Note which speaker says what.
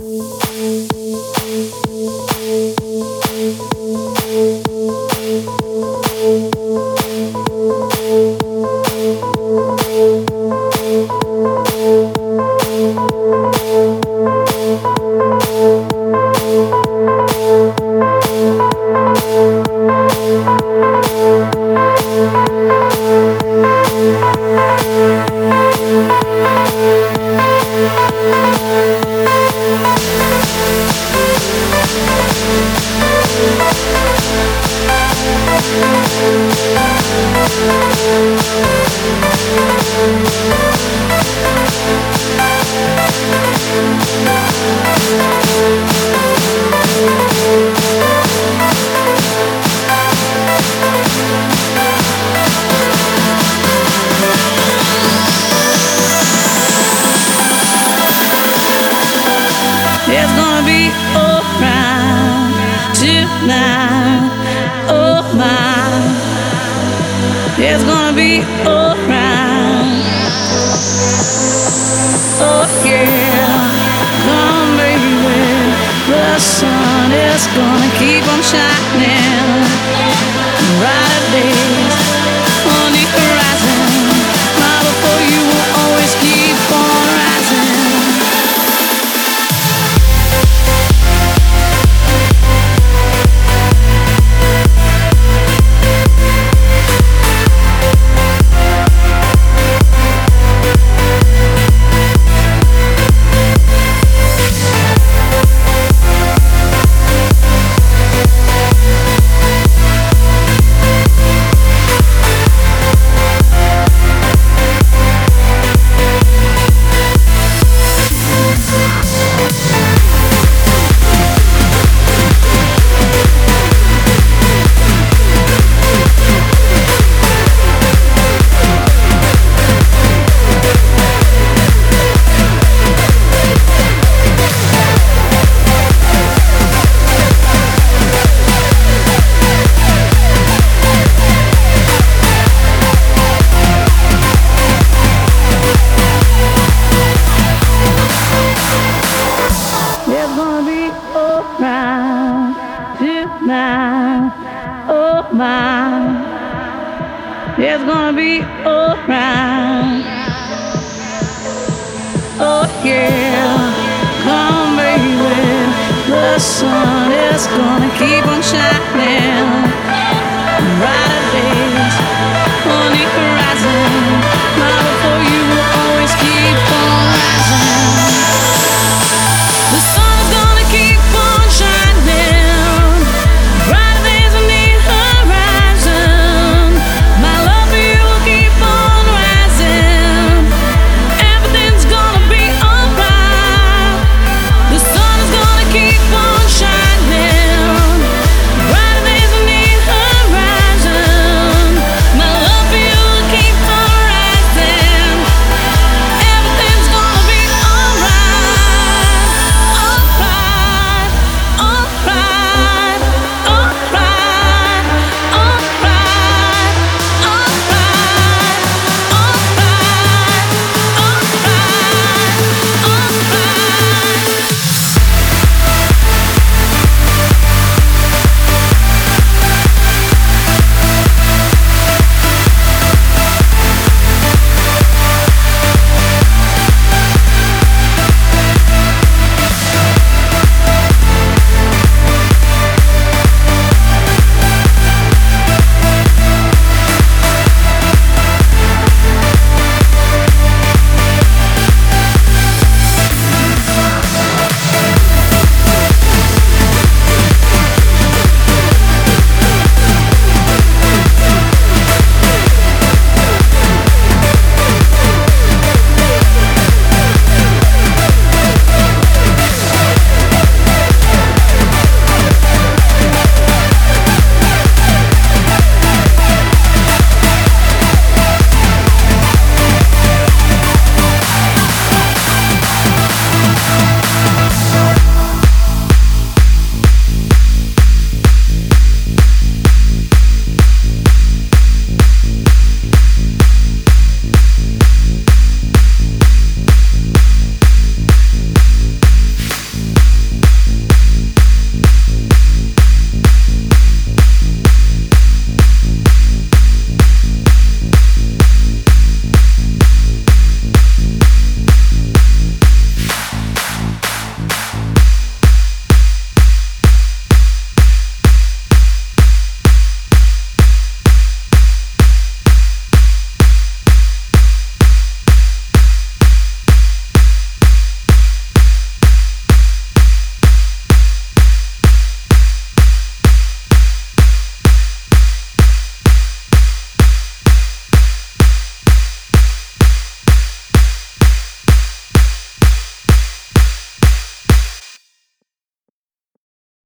Speaker 1: It's gonna be alright tonight. Oh my, it's gonna be alright. Oh yeah, come baby, the sun is gonna keep on shining. Brighter days on the horizon. My love for you will always keep on rising. It's gonna be alright tonight. Oh my, it's gonna be alright. Oh yeah, come baby, the sun is gonna keep on shining.